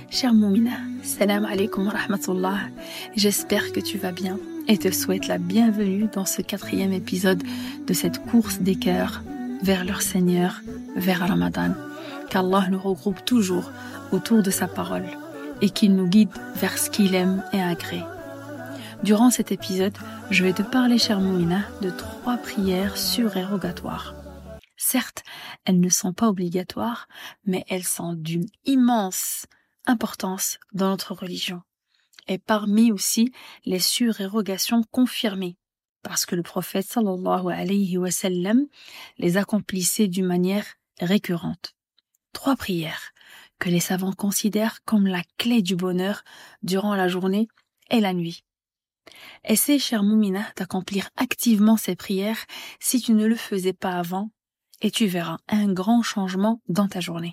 Cher Moumina, salam alaikum wa rahmatullah. J'espère que tu vas bien et te souhaite la bienvenue dans ce 4e épisode de cette course des cœurs vers leur Seigneur, vers Ramadan. Qu'Allah nous regroupe toujours autour de sa parole et qu'il nous guide vers ce qu'il aime et agrée. Durant cet épisode, je vais te parler, cher Moumina, de 3 prières surérogatoires. Certes, elles ne sont pas obligatoires, mais elles sont d'une immense importance dans notre religion. Et parmi aussi les surérogations confirmées, parce que le prophète sallallahu alayhi wa sallam les accomplissait d'une manière récurrente. 3 prières que les savants considèrent comme la clé du bonheur durant la journée et la nuit. Essaie, chère Moumina, d'accomplir activement ces prières si tu ne le faisais pas avant, et tu verras un grand changement dans ta journée.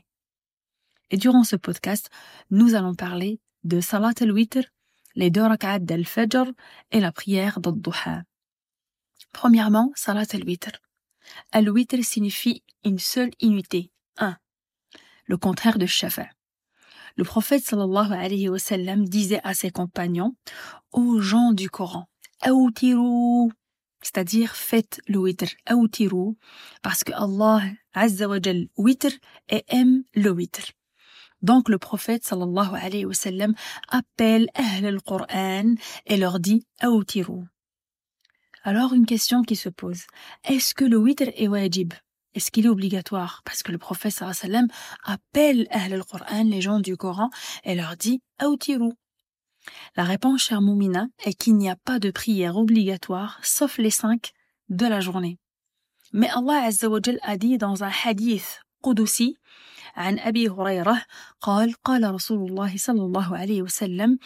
Et durant ce podcast, nous allons parler de Salat al-Witr, les 2 rak'at d'al-Fajr et la prière d'al-Duha. Premièrement, Salat al-Witr. Al-Witr signifie une seule unité, un, le contraire de Shafa. Le prophète sallallahu alayhi wa sallam disait à ses compagnons, aux gens du Coran, Awtiru, c'est-à-dire faites le witr, Awtiru, parce que Allah azza wa jal witr et aime le witr. Donc le prophète sallallahu alayhi wa sallam appelle Ahl al-Qur'an et leur dit Awtiru. Alors une question qui se pose, est-ce que le witr est wajib? Est-ce qu'il est obligatoire? Parce que le prophète sallallahu alayhi wa sallam appelle Ahl al-Qur'an, les gens du Coran, et leur dit Awtiru. La réponse, chère Moumina, est qu'il n'y a pas de prière obligatoire, sauf les 5 de la journée. Mais Allah azza wa jal a dit dans un hadith qudusi, عن أبي هريرة قال قال رسول الله صلى الله عليه وسلم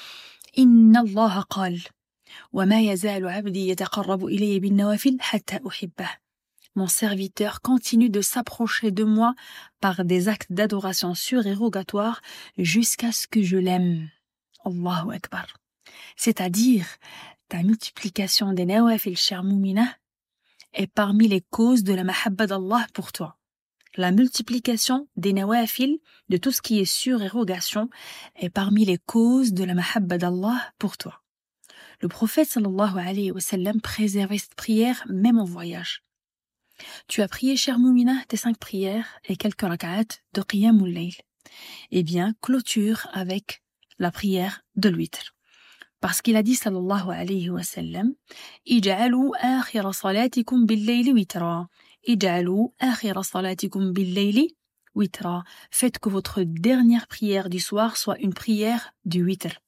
إن الله قال وما يزال عبدي يتقرب إلي بالنوافل حتى أحبه. Mon serviteur continue de s'approcher de moi par des actes d'adoration surérogatoires jusqu'à ce que je l'aime. Allahu Akbar. C'est-à-dire, ta multiplication des nawafil, chère Moumina, est parmi les causes de la mahabba d'Allah pour toi. La multiplication des nawafil, de tout ce qui est surérogation, est parmi les causes de la mahabba d'Allah pour toi. Le prophète sallallahu alayhi wa sallam préservait cette prière même en voyage. Tu as prié, chère Moumina, tes 5 prières et quelques rak'at de qiyamul layl. Eh bien, clôture avec la prière de l'witr. Parce qu'il a dit sallallahu alayhi wa sallam, Ij'alu akhira salatikum bil-layli witra. Ij'alu akhira salatikum bil-layli witra. Faites que votre dernière prière du soir soit une prière du witr.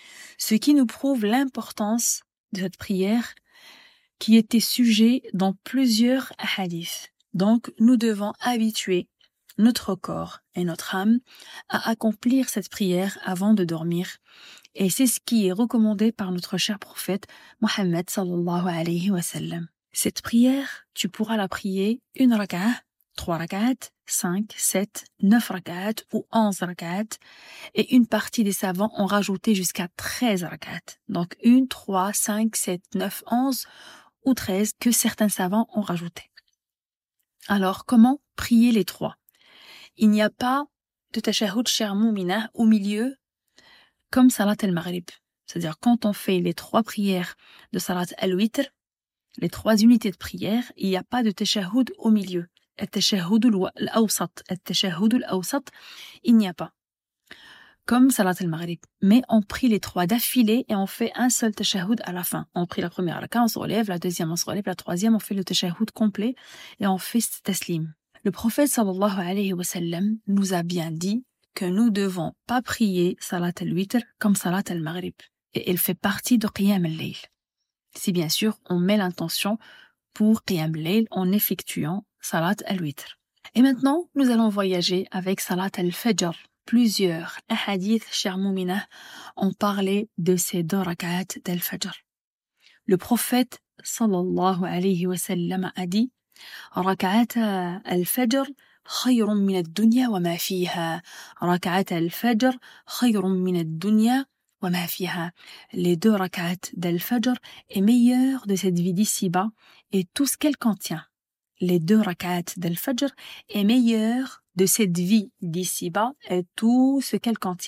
Ce qui nous prouve l'importance de cette prière qui était sujet dans plusieurs hadiths. Donc, nous devons habituer notre corps et notre âme à accomplir cette prière avant de dormir. Et c'est ce qui est recommandé par notre cher prophète Mohammed sallallahu alayhi wa sallam. Cette prière, tu pourras la prier 1 rak'at, 3 rak'at, 5, 7, 9 rak'at ou 11 rak'at. Et une partie des savants ont rajouté jusqu'à 13 rak'at. Donc 1, 3, 5, 7, 9, 11 ou 13 que certains savants ont rajouté. Alors, comment prier les 3? Il n'y a pas de tashahhud, cher Moumina, au milieu, comme Salat al-Maghrib. C'est-à-dire, quand on fait les 3 prières de Salat al-Witr, les 3 unités de prière, il n'y a pas de tashahhud au milieu. Al-tashahhud al-awsat, al-tashahhud al-awsat, il n'y a pas. Comme Salat al-Maghrib. Mais on prie les 3 d'affilée et on fait un seul tashahhud à la fin. On prie la première raka, on se relève, la deuxième on se relève, la troisième on fait le tashahhud complet et on fait taslim. Le prophète sallallahu alayhi wa sallam nous a bien dit que nous devons pas prier Salat al-Witr comme Salat al-Maghrib. Et elle fait partie de Qiyam al-Layl. Si bien sûr on met l'intention pour Qiyam al-Layl en effectuant Salat al-Witr. Et maintenant nous allons voyager avec Salat al-Fajr. Plusieurs hadiths, chère Moumina, ont parlé de ces 2 rak'at d'al-Fajr. Le prophète sallallahu alayhi wa sallam a dit rak'at al-Fajr khayrun min ad-dunya wa ma fiha. Rak'at al-Fajr khayrun min ad-dunya wa ma fiha. Les 2 rak'at d'al-Fajr est meilleur de cette vie d'ici-bas et tout ce qu'elle contient. Les 2 rak'at d'al-Fajr est meilleur de cette vie d'ici-bas et tout ce qu'elle contient.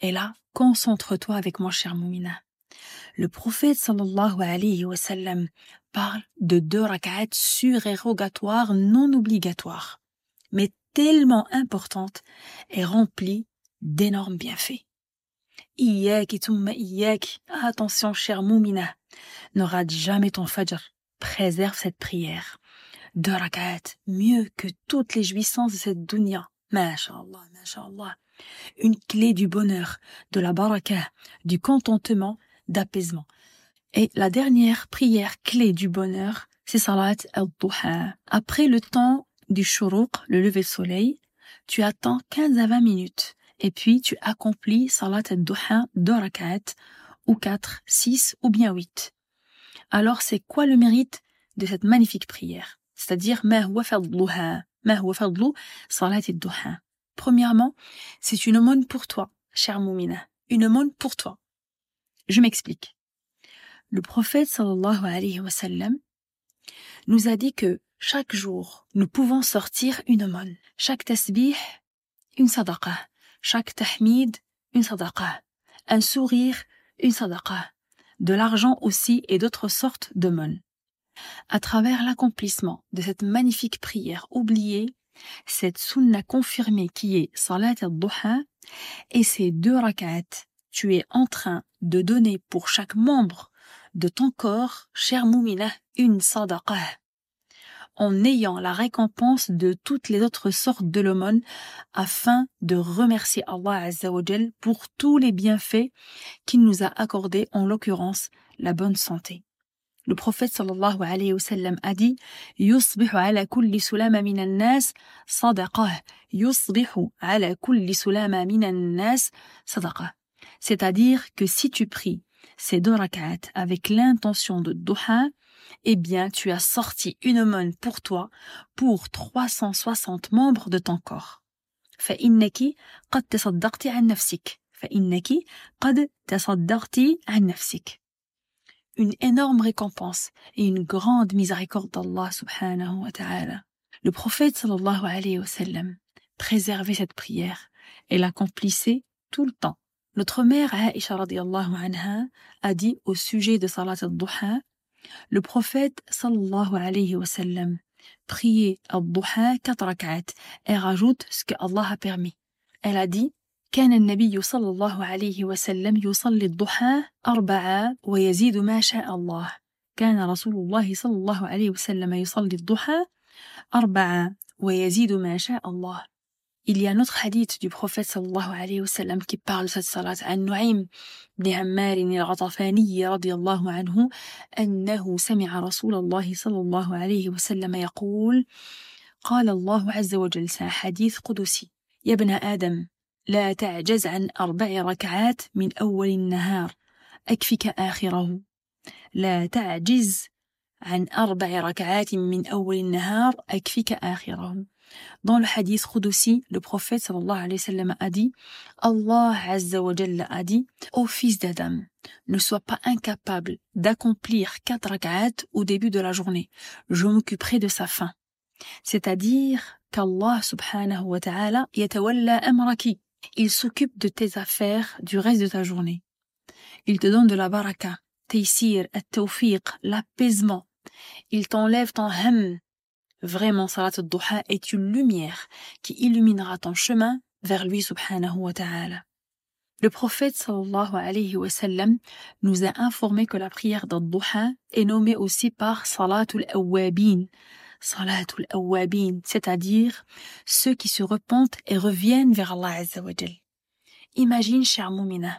Et là, concentre-toi avec moi, chère Moumina. Le prophète sallallahu alayhi wa sallam parle de 2 rak'at surérogatoires non obligatoires, mais tellement importantes et remplies d'énormes bienfaits. Iyyak thumma iyyak. Attention, chère Moumina, ne rate jamais ton fajr. Préserve cette prière. 2 rak'at, mieux que toutes les jouissances de cette dunya. Masha'Allah, masha'Allah. Une clé du bonheur, de la baraka, du contentement, d'apaisement. Et la dernière prière clé du bonheur, c'est salat al-duha. Après le temps du shuruq, le lever de soleil, tu attends 15 à 20 minutes. Et puis tu accomplis salat al-duha 2 rak'at, ou 4, 6 ou bien 8. Alors c'est quoi le mérite de cette magnifique prière? C'est-à-dire, ma huwa fadluha, ma huwa fadlu salat al-duha. Premièrement, c'est une aumône pour toi, chère Moumina. Une aumône pour toi. Je m'explique. Le prophète sallallahu alayhi wa sallam nous a dit que chaque jour, nous pouvons sortir une aumône. Chaque tasbih, une sadaqa. Chaque tahmid, une sadaqa. Un sourire, une sadaqa. De l'argent aussi et d'autres sortes d'aumônes. À travers l'accomplissement de cette magnifique prière oubliée, cette sunna confirmée qui est salat al-duha et ces 2 rak'at, tu es en train de donner pour chaque membre de ton corps, chère Moumina, une sadaqa, en ayant la récompense de toutes les autres sortes de l'aumône afin de remercier Allah Azza wa Jal pour tous les bienfaits qu'il nous a accordés, en l'occurrence la bonne santé. Le prophète sallallahu alayhi wa sallam a dit Yusbihu ala kulli sulama minan nas sadaqah. Yusbihu ala kulli sulama minan nas sadaqah. C'est-à-dire que si tu pries ces 2 rak'at avec l'intention de duha, eh bien tu as sorti une aumône pour toi, pour 360 membres de ton corps. فإنك قد تصدقت عن نفسك. فإنك قد تصدقت عن نفسك. Une énorme récompense et une grande miséricorde d'Allah subhanahu wa ta'ala. Le prophète sallallahu alayhi wa sallam préservait cette prière et l'accomplissait tout le temps. Notre mère Aïcha radiyallahu anha a dit au sujet de salat al-duha, le prophète sallallahu alayhi wa sallam priait al-duha 4 rak'at et rajoute ce que Allah a permis. Elle a dit كان النبي صلى الله عليه وسلم يصلي الضحى 4 ويزيد ما شاء الله. كان رسول الله صلى الله عليه وسلم يصلي الضحى 4 ويزيد ما شاء الله. Il y a un autre hadith du prophète sallallahu alayhi wa sallam qui parle de cette salat. عن نعيم بن عمار الغطفاني رضي الله عنه أنه سمع رسول الله صلى الله عليه وسلم يقول قال الله عز وجل. C'est un hadith قدسي. يا ابن آدم لا تعجز عن 4 ركعات من أول النهار أكفك آخره. لا تعجز عن 4 ركعات من أول النهار أكفك آخره. Dans le hadith Qudsi, le prophète sallallahu alayhi wa sallam a dit Allah Azza wa Jalla a dit ô fils d'Adam, ne sois pas incapable d'accomplir 4 rak'at au début de la journée. Je m'occuperai de sa fin. C'est-à-dire qu'Allah subhanahu wa ta'ala yatawalla amraki. Il s'occupe de tes affaires du reste de ta journée. Il te donne de la baraka, taysir, at-tawfiq, l'apaisement. Il t'enlève ton ham. Vraiment, salat al-duha est une lumière qui illuminera ton chemin vers lui subhanahu wa ta'ala. Le prophète sallallahu alayhi wa sallam nous a informé que la prière d'al-duha est nommée aussi par salatul awwabin. Salatul awwabin, c'est-à-dire ceux qui se repentent et reviennent vers Allah Azza wa Jal. Imagine, chère Moumina,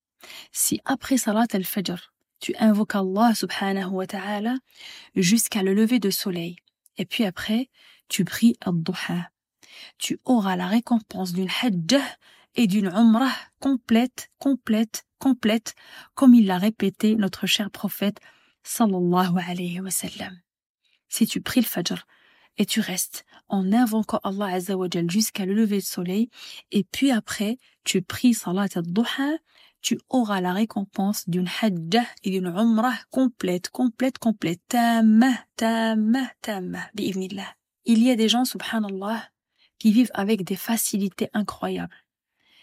si après salat al-fajr, tu invoques Allah subhanahu wa ta'ala jusqu'à le lever de soleil, et puis après, tu pries al-duha, tu auras la récompense d'une hajjah et d'une umrah complète, comme il l'a répété notre cher prophète sallallahu alayhi wa sallam. Si tu pries le fajr et tu restes en invoquant Allah Azza wa Jal jusqu'à le lever du soleil, et puis après tu pries salat al-duha, tu auras la récompense d'une hajjah et d'une umrah complète, tamma, bi'idhnillah. Il y a des gens, subhanallah, qui vivent avec des facilités incroyables.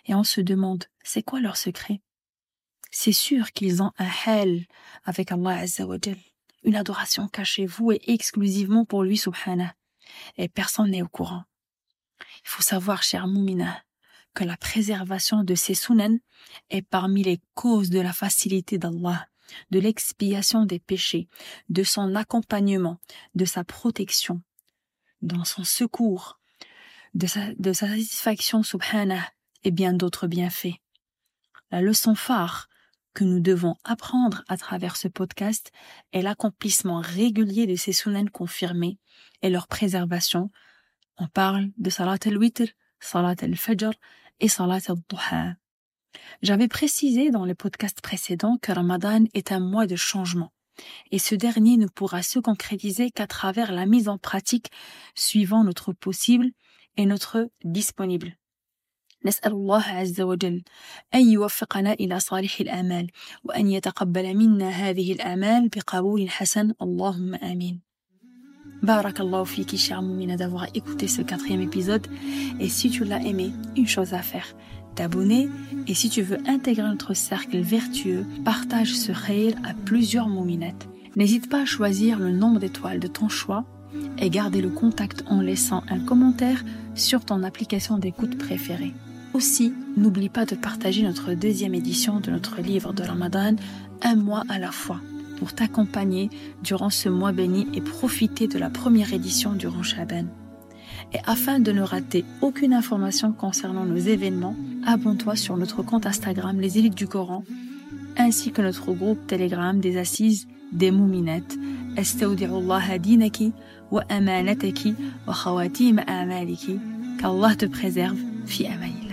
Et on se demande, c'est quoi leur secret? C'est sûr qu'ils ont un hal avec Allah Azza wa Jal, une adoration cachée, vouée exclusivement pour lui subhanah. Et personne n'est au courant. Il faut savoir, cher Moumina, que la préservation de ces sunan est parmi les causes de la facilité d'Allah, de l'expiation des péchés, de son accompagnement, de sa protection, dans son secours, de sa satisfaction subhanah et bien d'autres bienfaits. La leçon phare que nous devons apprendre à travers ce podcast est l'accomplissement régulier de ces sunan confirmés et leur préservation. On parle de salat al-witr, salat al-fajr et salat al-duha. J'avais précisé dans le podcast précédent que Ramadan est un mois de changement et ce dernier ne pourra se concrétiser qu'à travers la mise en pratique suivant notre possible et notre disponible. نسأل الله عز وجل أن يوفقنا إلى صالح الآمال وأن يتقبل منا هذه الآمال بقبول حسن اللهم آمين. Barakallahu fiki, chère Moumina, d'avoir écouté ce 4e épisode. Et si tu l'as aimé, une chose à faire, t'abonner. Et si tu veux intégrer notre cercle vertueux, partage ce khayr à plusieurs Mouminettes. N'hésite pas à choisir le nombre d'étoiles de ton choix et garder le contact en laissant un commentaire sur ton application d'écoute préférée. Aussi, n'oublie pas de partager notre 2e édition de notre livre de Ramadan, un mois à la fois, pour t'accompagner durant ce mois béni et profiter de la première édition durant Shaban. Et afin de ne rater aucune information concernant nos événements, abonne-toi sur notre compte Instagram Les Élites du Coran, ainsi que notre groupe Telegram des Assises des Mouminettes. Astaudi'ullaha dinaki wa amanataki wa khawatim a'maliki. Qu'Allah te préserve, fi amanillah.